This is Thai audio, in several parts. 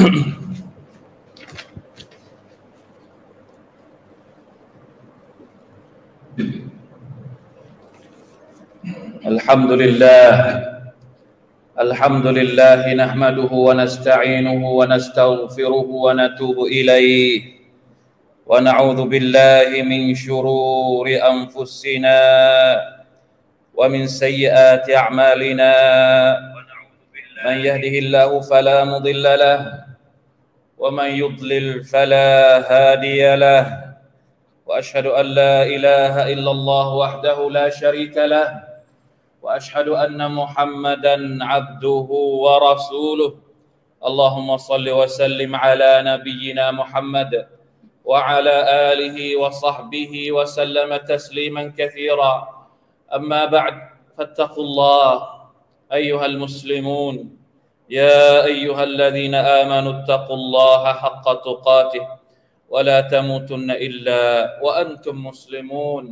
الحمد لله نحمده ونستعينه ونستغفره ونتوب إليه ونعوذ بالله من شرور أنفسنا ومن سيئات أعمالنا من يهده الله فلا مضل له ومن يضلل فلا هادي له وأشهد أن لا إله إلا الله وحده لا شريك له وأشهد أن محمدًا عبده ورسوله اللهم صل وسلم على نبينا محمد وعلى آله وصحبه وسلم تسليما كثيرا أما بعد فاتقوا الله أيها المسلمون يا أيها الذين آمنوا اتقوا الله حق تقاته ولا تموتن إلا وأنتم مسلمون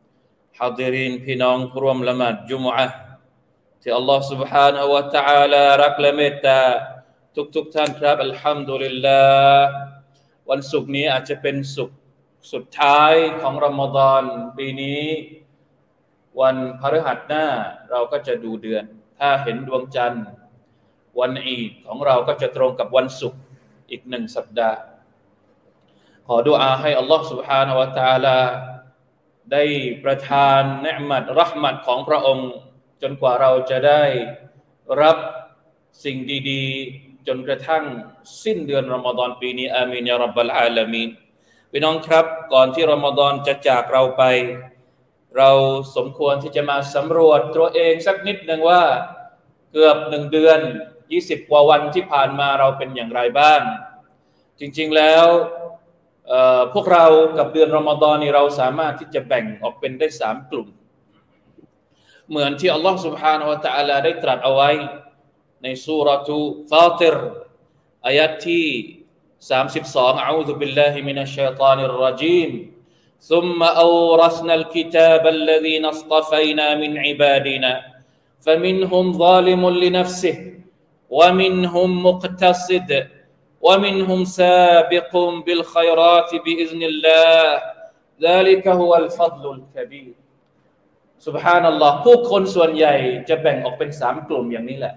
حاضرين พี่น้องผู้ร่วมละหมาดจุมอะห์ที่อัลลอฮฺ سبحانه และ تعالى รักและเมตตาทุกท่านครับอัลฮัมดุลิลลาห์วันศุกร์นี้อาจจะเป็นศุกร์สุดท้ายของรอมฎอนปีนี้วันพฤหัสหน้าเราก็จะดูเดือนถ้าเห็นดวงจันทร์วันอีดของเราก็จะตรงกับวันศุกร์อีก1สัปดาห์ขอดุอาให้อัลลอฮฺ سبحانه และ تعالى ได้ประทานนิอ์มัตเราะห์มัตของพระองค์จนกว่าเราจะได้รับสิ่งดีๆจนกระทั่งสิ้นเดือนรอมฎอนปีนี้อามีนยาร็อบบัลอาลามีนพี่น้องครับก่อนที่รอมฎอนจะจากเราไปเราสมควรที่จะมาสำรวจตัวเองสักนิดนึงว่าเกือบ1เดือน20กว่าวันที่ผ่านมาเราเป็นอย่างไรบ้างจริงๆแล้วพวกเรากับเดือนรอมฎอนนี้เราสามารถที่จะแบ่งออกเป็นได้3กลุ่มเหมือนที่อัลลอฮฺ سبحانه และ تعالى ได้ตรัสเอาไว้ในซูเราะตุฟาติรอายะห์ที่32อะอูซุบิลลาฮิมินัชชัยฏอนิรเราะญีม ثم أورثنا الكتاب الذين اصطفينا من عبادنا فمنهم ظالم لنفسه ومنهم مقتصد ومنهم سابق بالخيرات بإذن الله ذلك هو الفضل الكبير سبحان الله ผู้คนส่วนใหญ่จะแบ่งออกเป็น3กลุ่มอย่างนี้แหละ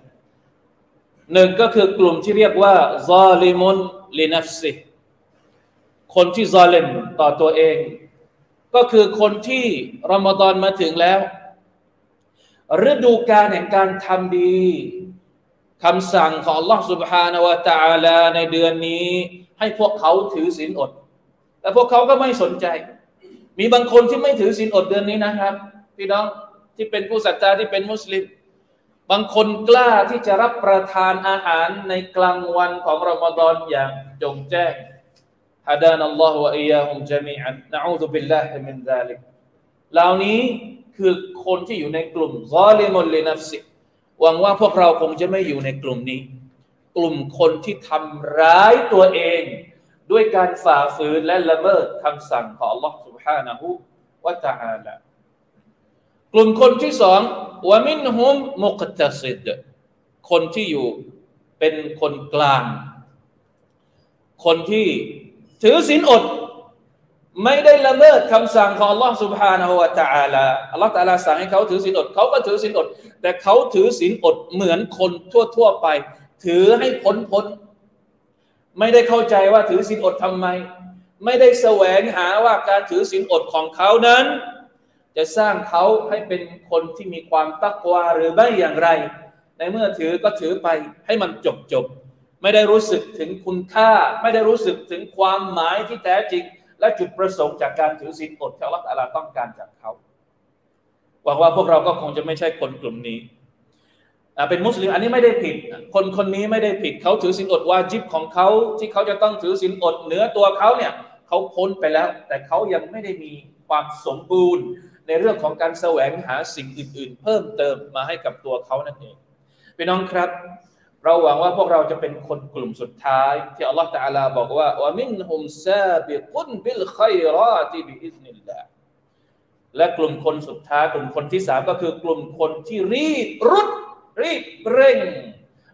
1ก็คือกลุ่มที่เรียกว่าซาลิมุนลินัฟซิคนที่ซาลิมต่อตัวเองก็คือคนที่รอมฎอนมาถึงแล้วฤดูกาลแห่งการทำดีคำสั่งของ Allah Subhanahu wa Ta'ala ในเดือนนี้ให้พวกเขาถือศีลอดแต่พวกเขาก็ไม่สนใจมีบางคนที่ไม่ถือศีลอดเดือนนี้นะครับพี่น้องที่เป็นผู้ศรัทธาที่เป็นมุสลิมบางคนกล้าที่จะรับประทานอาหารในกลางวันของรอมฎอนอย่างจงแจ้งฮะดานัลลอฮุวะอียาฮุมญะมีอันนะอูซุบิลลาฮิมินซาลิกเหล่านี้คือคนที่อยู่ในกลุ่มซาลิมุนลินัฟซิหวังว่าพวกเราคงจะไม่อยู่ในกลุ่มนี้กลุ่มคนที่ทำร้ายตัวเองด้วยการฝ่าฝืนและละเมิดคำสั่งของ Allah Subhanahu wa Ta'ala กลุ่มคนที่2วะมินฮุมมุกตัซิดคนที่อยู่เป็นคนกลางคนที่ถือศีลอดไม่ได้ละเมิดคำสั่งของ Allah Subhanahu wa Ta'ala Allah Ta'ala สั่งให้เขาถือศีลอดเขาก็ถือศีลอดแต่เขาถือศีลอดเหมือนคนทั่วๆไปถือให้พ้นไม่ได้เข้าใจว่าถือศีลอดทำไมไม่ได้แสวงหาว่าการถือศีลอดของเขานั้นจะสร้างเขาให้เป็นคนที่มีความตักวาหรือไม่อย่างไรในเมื่อถือก็ถือไปให้มันจบไม่ได้รู้สึกถึงคุณค่าไม่ได้รู้สึกถึงความหมายที่แท้จริงและจุดประสงค์จากการถือศีลอดที่อัลเลาะห์ตะอาลาต้องการจากเขาหวังว่าพวกเราก็คงจะไม่ใช่คนกลุ่มนี้เป็นมุสลิมอันนี้ไม่ได้ผิดคนนี้ไม่ได้ผิดเขาถือศีลอดวาญิบของเขาที่เขาจะต้องถือศีลอดเหนือตัวเขาเนี่ยเขาพ้นไปแล้วแต่เขายังไม่ได้มีความสมบูรณ์ในเรื่องของการแสวงหาสิ่งอื่นๆเพิ่มเติมมาให้กับตัวเขานั่นเองพี่น้องครับเราหวังว่าพวกเราจะเป็นคนกลุ่มสุดท้ายที่อัลเลาะห์ตะอาลาบอกว่าวะมินฮุมซาบิกุนบิลค็อยรอติบิอิซนิลลาห์และกลุ่มคนสุดท้ายกลุ่มคนที่3ก็คือกลุ่มคนที่รีบเร่ง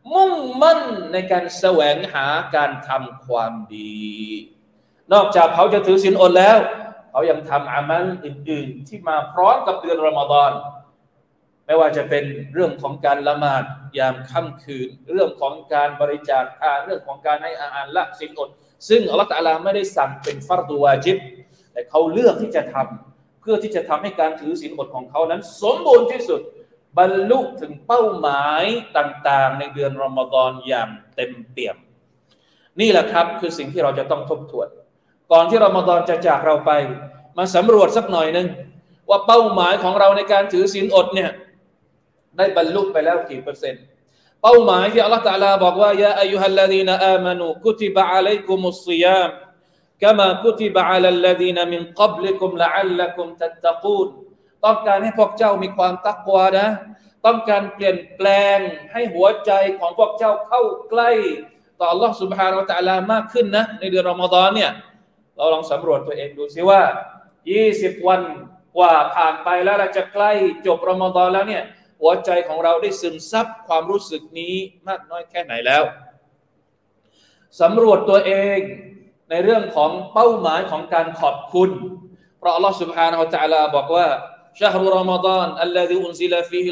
มุ่งมั่นในการแสวงหาการทำความดีนอกจากเขาจะถือศีลอดแล้วเขายังทำอามัลอื่นๆที่มาพร้อมกับเดือนรอมฎอนไม่ว่าจะเป็นเรื่องของการละหมาดยามค่ำคืนเรื่องของการบริจาคทานเรื่องของการให้อาหารละศีลอดซึ่งอัลเลาะห์ตะอาลาไม่ได้สั่งเป็นฟัรฎุวาญิบแต่เขาเลือกที่จะทำเพื่อที่จะทำให้การถือศีลอดของเขานั้นสมบูรณ์ที่สุดบรรลุถึงเป้าหมายต่างๆในเดือนรอมฎอนอย่างเต็มเปี่ยมนี่แหละครับคือสิ่งที่เราจะต้องทบทวนก่อนที่รอมฎอนจะจากเราไปมาสำรวจสักหน่อยนึงว่าเป้าหมายของเราในการถือศีลอดเนี่ยได้บรรลุไปแล้วกี่เปอร์เซ็นต์เป้าหมายที่อัลเลาะห์ตะอาลาบอกว่ายาอัยยูฮัลลซีนาอามานูกุติบะอะลัยกุมุศศิยามกะมากุติบะอะลัลลซีนามินกับลิกุมละอัลลักุมตัตตะกูนต้องการให้พวกเจ้ามีความตักวานะต้องการเปลี่ยนแปลงให้หัวใจของพวกเจ้าเข้าใกล้ต่ออัลเลาะห์ซุบฮานะฮูวะตะอาลามากขึ้นนะในเดือนรอมฎอนเนี่ยเราลองสำรวจตัวเองดูซิว่า20วันกว่าผ่านไปแล้วเราจะใกล้จบรอมฎอนแล้วเนี่ยหัวใจของเราได้ซึมซับความรู้สึกนี้มากน้อยแค่ไหนแล้วสำรวจตัวเองในเรื่องของเป้าหมายของการขอบคุณเพราะอัลเลาะห์ سبحانه และ تعالى บอกว่า شهر رمضان الذي أنزل فيه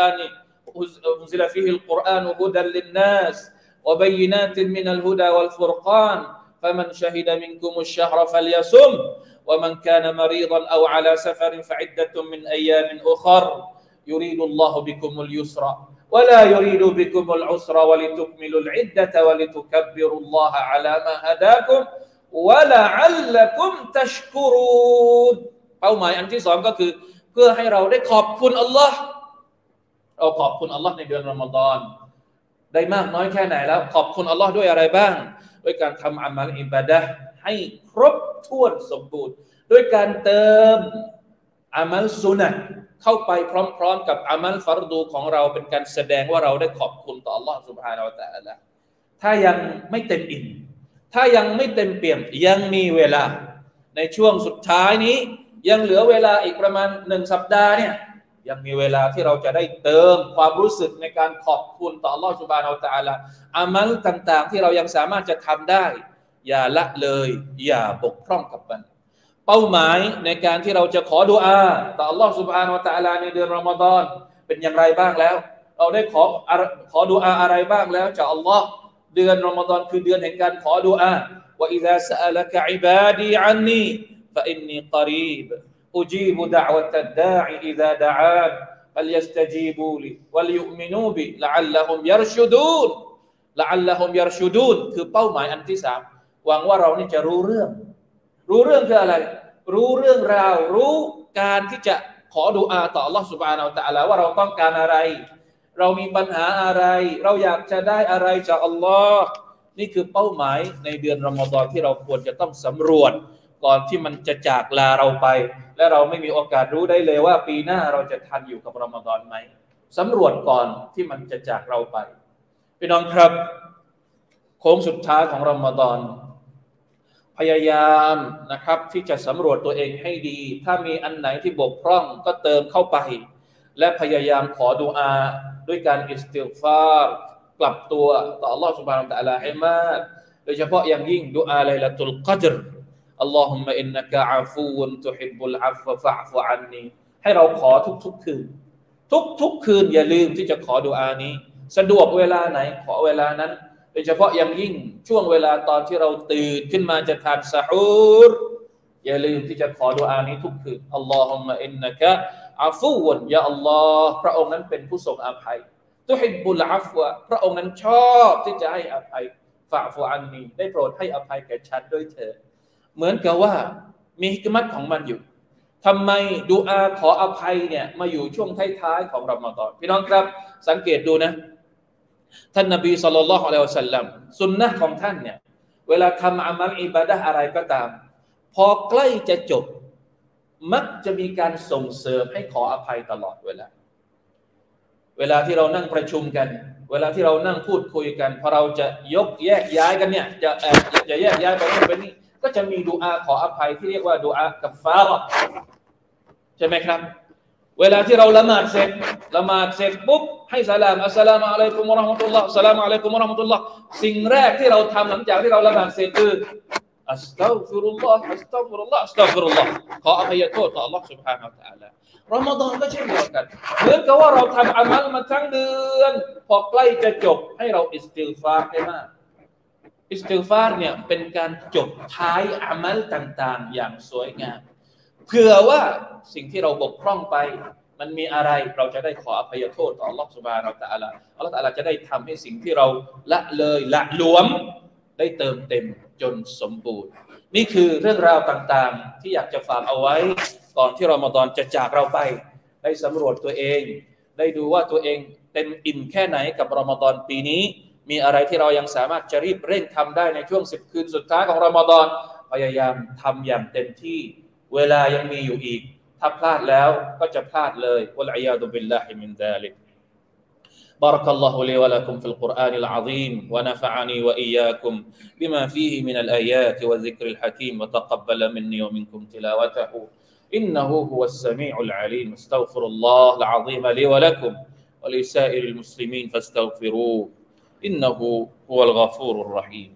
القرآن هدى للناس وبينات من الهدى والفرقان فمن شهد منكم الشهر فليصم ومن كان مريضا أو على سفر فعدة من أيام أخر يريد الله بكم اليسر ولا يريد بكم العسر ولتكملوا العدة ولتكبروا الله على ما هداكم ولعلكم تشكرون เป้าหมายอันที่สองก็คือเพื่อให้เราได้ขอบคุณอัลลอฮ์เราขอบคุณอัลลอฮ์ในเดือนรอมฎอนได้มากน้อยแค่ไหนแล้วขอบคุณอัลลอฮ์ด้วยอะไรบ้างด้วยการทำอามัลอิบาดะห์ให้ครบถ้วนสมบูรณ์ด้วยการเติมอามัลซุนะห์เข้าไปพร้อมๆกับอามัลฟัรดูของเราเป็นการแสดงว่าเราได้ขอบคุณต่ออัลลอฮ์ซุบฮานะฮูวะตะอาลาถ้ายังไม่เต็มอิ่มถ้ายังไม่เต็มเปี่ยมยังมีเวลาในช่วงสุดท้ายนี้ยังเหลือเวลาอีกประมาณ1สัปดาห์เนี่ยยังมีเวลาที่เราจะได้เติมความรู้สึกในการขอบคุณต่ออัลลอฮ์ซุบฮานะฮูวะตะอาลาอามัลต่างๆที่เรายังสามารถจะทำได้อย่าละเลยอย่าบกพร่องกับมันเป้าหมายในการที่เราจะขอดุอาต่ออัลลอฮ์ซุบฮานะฮูวะตะอาลาในเดือนรอมฎอนเป็นอย่างไรบ้างแล้วเราได้ขอดุอาอะไรบ้างแล้วจากอัลลอฮ์เดือนรอมฎอนคือเดือนแห่งการขอดุอาว่าอิซาซะอะละกะอิบาดีอันนีฟะอินนีกอรีบอุจีบุดะอวะตัดดาอิอิซาดะอานفليستجيبوا لي وليؤمنوا بي لعلهم يرشدون لعلهم يرشدون คือเป้าหมายอันที่3หวังว่าเรานี่จะรู้เรื่องคืออะไรรู้เรื่องราวรู้การที่จะขอดุอาต่อ Allah Subhanahu Wa Taala ว่าเราต้องการอะไรเรามีปัญหาอะไรเราอยากจะได้อะไรจากอัลลอฮ์นี่คือเป้าหมายในเดือนรอมฎอนที่เราควรจะต้องสำรวจก่อนที่มันจะจากลาเราไปและเราไม่มีโอกาสรู้ได้เลยว่าปีหน้าเราจะทันอยู่กับรอมฎอนไหมสำรวจก่อนที่มันจะจากเราไปพี่น้องครับโค้งสุดท้ายของรอมฎอนพยายามนะครับที่จะสำรวจตัวเองให้ดีถ้ามีอันไหนที่บกพร่องก็เติมเข้าไปและพยายามขอดุอาด้วยการอิสติฆฟารกลับตัวต่อ Allah Subhanahu Wa Taala ให้มากโดยเฉพาะอย่างยิ่งดุอาไลลาตุลกัดรอัลลอฮุมมะอินนะกะอาฟูวะตุฮิบบุลอัฟวะฟะอ์ฟุอันนีให้เราขอทุกๆคืนทุกคืนอย่าลืมที่จะขอดุอานี้สะดวกเวลาไหนขอเวลานั้นโดยเฉพาะอย่างยิ่งช่วงเวลาตอนที่เราตื่นขึ้นมาจะทานซะฮูรอย่าลืมที่จะขอดุอานี้ทุกคืนอัลลอฮุมมะอินนะกะอาฟูวะยาอัลลอฮ์พระองค์นั้นเป็นผู้ทรงอภัยตุฮิบบุลอัฟวะพระองค์นั้นชอบที่จะให้อภัยฟะอ์ฟุอันนีได้โปรดให้อภัยแก่ฉันด้วยเถิดเหมือนกับว่ามีฮิกมัตของมันอยู่ทำไมดุอาขออภัยเนี่ยมาอยู่ช่วงท้ายๆของรอมฎอนพี่น้องครับสังเกตดูนะท่านนบีศ็อลลัลลอฮุอะลัยฮิวะซัลลัมสุนนะห์ของท่านเนี่ยเวลาทำอามัลอิบาดะห์อะไรก็ตามพอใกล้จะจบมักจะมีการส่งเสริมให้ขออภัยตลอดเวลาที่เรานั่งประชุมกันเวลาที่เรานั่งพูดคุยกันพอเราจะแยกย้ายกันเนี่ยจะแยกย้ายไปนู่นไปนี่ก็จะมีดุอาขออภัยที่เรียกว่าดุอากัฟฟาเราะห์ใช่ไหมครับเวลาที่เราละหมาดเสร็จปุ๊บให้สลามอัสสลามุอะลัยกุมวะเราะห์มะตุลลอฮ์อัสสลามุอะลัยกุมวะเราะห์มะตุลลอฮ์สิ่งแรกที่เราทำหลังจากที่เราละหมาดเสร็จคืออัสตัฆฟิรุลลอฮ์อัสตัฆฟิรุลลอฮ์อัสตัฆฟิรุลลอฮ์ขออภัยโทษต่อ Allah Subhanahu Wa Taala รอมฎอนก็เช่นเดียวกันเหมือนกับว่าเราทำอามัลมาทั้งเดือนพอใกล้จะจบให้เราอิสติฆฟารให้มากอิสติฆฟารเนี่ยเป็นการจบท้ายอามัลต่างๆอย่างสวยงามเผื่อว่าสิ่งที่เราบกพร่องไปมันมีอะไรเราจะได้ขออภัยโทษต่อ Allah Subhanahu Wa Taala Allah Taala จะได้ทำให้สิ่งที่เราละเลยละหลวมได้เติมเต็มจนสมบูรณ์นี่คือเรื่องราวต่างๆที่อยากจะฝากเอาไว้ก่อนที่รอมฎอนจะจากเราไปได้สำรวจตัวเองได้ดูว่าตัวเองเต็มอิ่มแค่ไหนกับรอมฎอนปีนี้มีอะไรที่เรายังสามารถจะรีบเร่งทำได้ในช่วง10คืนสุดท้ายของรอมฎอนพยายามทำอย่างเต็มที่เวลายังมีอยู่อีกถ้าพลาดแล้วก็จะพลาดเลยวัลอียาดุบิลลาฮิมินซาลิกبارك الله لي ولكم في القرآن العظيم ونفعني وإياكم بما فيه من الآيات والذكر الحكيم وتقبل مني ومنكم تلاوته إنه هو السميع العليم استغفر الله العظيم لي ولكم ولسائر المسلمين فاستغفروه إنه هو الغفور الرحيم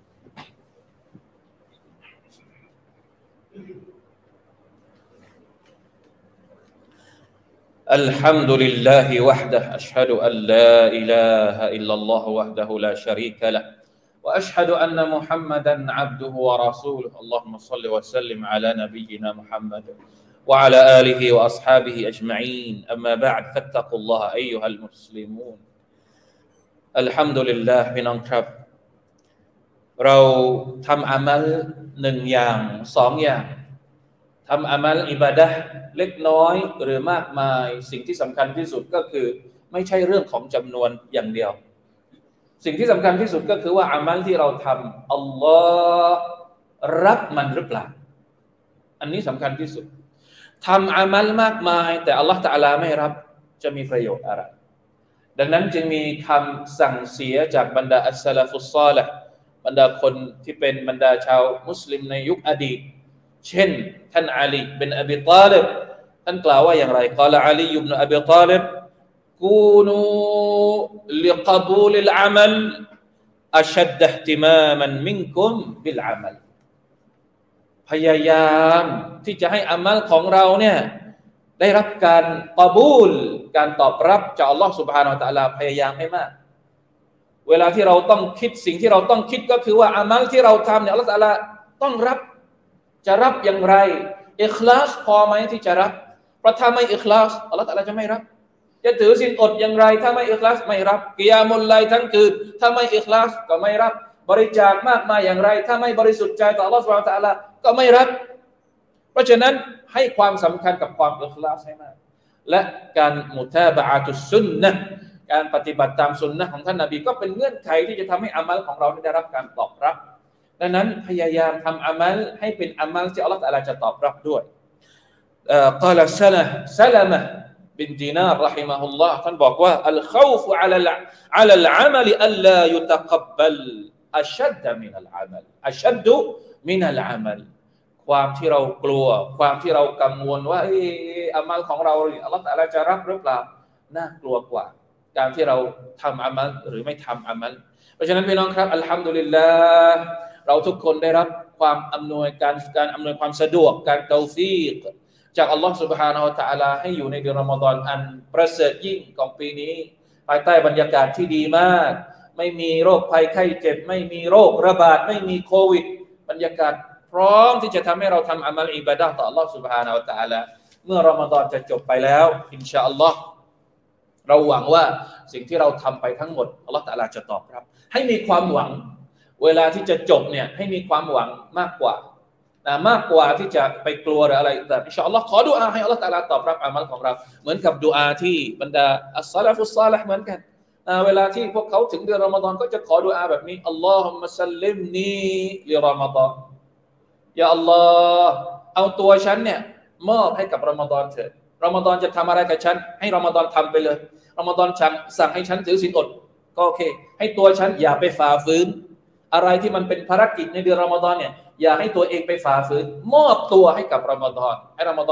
الحمد لله وحده أشهد أن لا إله إلا الله وحده لا شريك له وأشهد أن محمدا عبده ورسوله اللهم صل وسلم على نبينا محمد وعلى آله وأصحابه أجمعين أما بعد فاتقوا الله أيها المسلمون الحمد لله พี่น้องครับเราทำอามัล1อย่าง2อย่างทำอามัลอิบาดะห์เล็กน้อยหรือมากมายสิ่งที่สำคัญที่สุดก็คือไม่ใช่เรื่องของจำนวนอย่างเดียวสิ่งที่สำคัญที่สุดก็คือว่าอามัลที่เราทำอัลลอฮ์รับมันหรือเปล่าอันนี้สำคัญที่สุดทำอามัลมากมายแต่อัลลอฮ์ตะอาลาไม่รับจะมีประโยชน์อะไรดังนั้นจึงมีคำสั่งเสียจากบรรดาอัสซะลาฟุศศอลิห์บรรดาคนที่เป็นบรรดาชาวมุสลิมในยุคอดีตเช่นท่านอาลีบินอบีฏอลิบท่านกล่าวว่าอย่างไรกล่าวอาลีบินอบีฏอลิบกูนูลิกบูลิลอามัลอัชัดอิห์ติมามันมินกุมบิลอามัลพยายามที่จะให้อามัลของเราเนี่ยได้รับการกบูลการตอบรับจากอัลลอฮฺ سبحانه และ تعالى พยายามให้มากเวลาที่เราต้องคิดสิ่งที่เราต้องคิดก็คือว่าอามัลที่เราทำเนี่ยอัลลอฮฺ تعالى ต้องรับจะรับอย่างไรอิคลาสพอไหมที่จะรับเพราะถ้าไม่อิคลาสอัลเลาะห์ตะอาลาจะไม่รับจะถือศีลอดอย่างไรถ้าไม่อิคลาสไม่รับกิยามุลไลล์ทั้งคืนถ้าไม่อิคลาสก็ไม่รับบริจาคมากมายอย่างไรถ้าไม่บริสุทธิ์ใจต่ออัลเลาะห์ซุบฮานะฮูวะตะอาลาก็ไม่รับเพราะฉะนั้นให้ความสำคัญกับความอิคลาสให้มากและการมุตาบะอะตุสซุนนะห์การปฏิบัติตามสุนนะห์ของท่านนบีก็เป็นเงื่อนไขที่จะทำให้อามัลของเราได้รับการตอบรับดังนั้นพยายามทำอามัลให้เป็นอามัลที่อัลเลาะห์ตะอาลาจะตอบรับด้วยกล่าวซะละมะบินดีนาร์รอฮิมะฮุลลอฮ์ท่านบอกว่าอัลคอฟอะลัลอามัลอัลลายุตะกับบัลอัชัดมินัลอามัลอัชัดมินัลอามัลความที่เรากลัวความที่เรากังวลว่าอามัลของเราอัลเลาะห์ตะอาลาจะรับหรือเปล่าน่ากลัวกว่าการที่เราทำอามัลหรือไม่ทำอามัลเพราะฉะนั้นพี่น้องครับอัลฮัมดุลิลลาห์เราทุกคนได้รับความอำนวยการอำนวยความสะดวกการเตาฟีกจากอัลลอฮฺ سبحانه และ تعالى ให้อยู่ในเดือนรอมฎอนอันประเสริฐยิ่งของปีนี้ภายใต้บรรยากาศที่ดีมากไม่มีโรคภัยไข้เจ็บไม่มีโรคระบาดไม่มีโควิดบรรยากาศพร้อมที่จะทำให้เราทำอามัลอิบาดะห์ต่ออัลลอฮฺ سبحانه และ تعالى เมื่อรอมฎอนจะจบไปแล้วอินชาอัลลอฮ์เราหวังว่าสิ่งที่เราทำไปทั้งหมดอัลลอฮฺ تعالى จะตอบรับให้มีความหวังเวลาที่จะจบเนี่ยให้มีความหวังมากกว่าที่จะไปกลัวหรืออะไรแต่อินชาอัลลอฮ์ขอดุอาให้อัลลอฮฺ تعالى ตอบรับอามัลของเราเหมือนกับดุอาที่บรรดาอัสซะลาฟุศศอลิห์เหมือนกันเวลาที่พวกเขาถึงเดือนรอมฎอนก็จะขอดุอาแบบนี้อัลลอฮุมมะซัลลิมนีลิรอมฎอนยาอัลลอฮ์เอาตัวฉันเนี่ยมอบให้กับรอมฎอนเถิดรอมฎอนจะทำอะไรกับฉันให้รอมฎอนทำไปเลยรอมฎอนสั่งให้ฉันถือศีลอดก็โอเคให้ตัวฉันอย่าไปฝ่าฝืนอะไรที่มันเป็นภารกิจในเดือนรอมฎอนเนี่ยอย่าให้ตัวเองไปฝ่าฝืนมอบตัวให้กับรอมฎอนให้รอมฎอน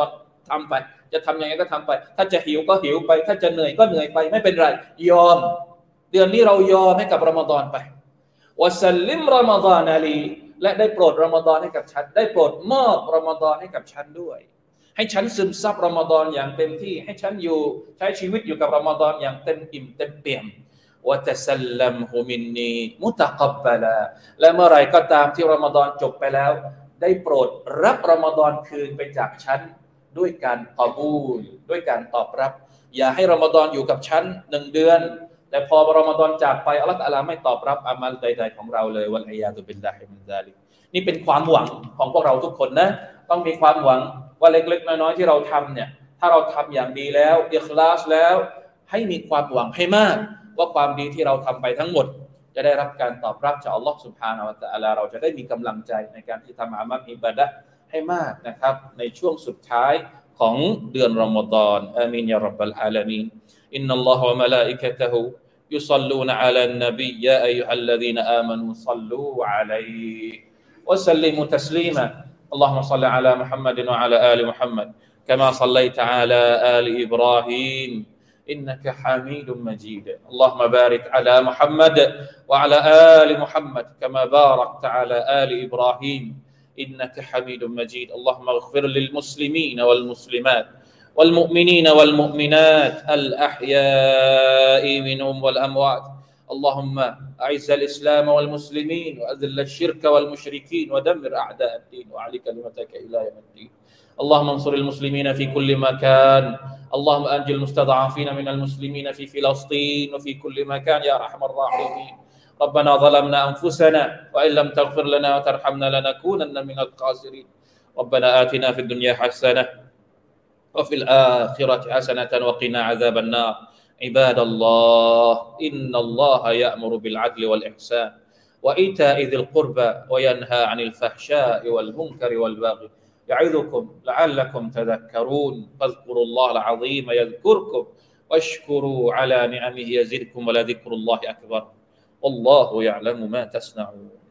ทำไปจะทำยังไงก็ทำไปถ้าจะหิวก็หิวไปถ้าจะเหนื่อยก็เหนื่อยไปไม่เป็นไรยอมเดือนนี้เรายอมให้กับรอมฎอนไปวะซัลลิมรอมฎอนลีและได้โปรดรอมฎอนให้กับฉันได้โปรดมอบรอมฎอนให้กับฉันด้วยให้ฉันซึมซับรอมฎอนอย่างเต็มที่ให้ฉันอยู่ใช้ชีวิตอยู่กับรอมฎอนอย่างเต็มอิ่มเต็มเปี่ยมวะตะซัลลัมฮุมินนีมุตะกับบะลาและเมื่อไรก็ตามที่รอมฎอนจบไปแล้วได้โปรดรับรอมฎอนคืนไปจากฉันด้วยการกอบูลด้วยการตอบรับอย่าให้รอมฎอนอยู่กับฉัน1เดือนแต่พอรอมฎอนจากไปอัลเลาะห์ตะอาลาไม่ตอบรับอามัลใดๆของเราเลยวัลอียาซุบิลลาฮิมินซาลิกนี่เป็นความหวังของพวกเราทุกคนนะต้องมีความหวังว่าเล็กๆน้อยๆที่เราทำเนี่ยถ้าเราทำอย่างดีแล้วอิคลาสแล้วให้มีความหวังให้มากว่าความดีที่เราทำไปทั้งหมดจะได้รับการตอบรับจากอัลลอฮฺซุบฮานะฮูวะตะอาลาเราจะได้มีกำลังใจในการที่ทำอามัลอิบาดะห์ให้มากนะครับในช่วงสุดท้ายของเดือนรอมฎอนอามีนยาร็อบบัลอาลามีนอินนัลลอฮฺวะมะลาอิกะตะฮูيصلون على النبي يا أيها الذين آمنوا صلوا عليه وسلموا تسليما اللهم صل على محمد وعلى آل محمد كما صليت على آل إبراهيم إنك حميد مجيد اللهم بارك على محمد وعلى آل محمد كما باركت على آل إبراهيم إنك حميد مجيد اللهم اغفر للمسلمين والمسلمات والمؤمنين والمؤمنات الأحياء منهم والأموات اللهم أعز الإسلام والمسلمين وأذل الشرك والمشركين ودمر أعداء الدين وأعل كلمتك إلى يوم الدين اللهم انصر المسلمين في كل مكان اللهم أنجِ المستضعفين من المسلمين في فلسطين وفي كل مكان يا أرحم الراحمين ربنا ظلمنا أنفسنا وإن لم تغفر لنا وترحمنا لنكونن من الخاسرين ربنا آتنا في الدنيا حسنة وفي الآخرة حسنة وقنا عذاب النار عباد الله إن الله يأمر بالعدل والإحسان وإيتاء ذي القربى وينهى عن الفحشاء والمنكر والبغي يعظكم لعلكم تذكرون فاذكروا الله العظيم يذكركم واشكروا على نعمه يزدكم ولذكر الله أكبر والله يعلم ما تصنعون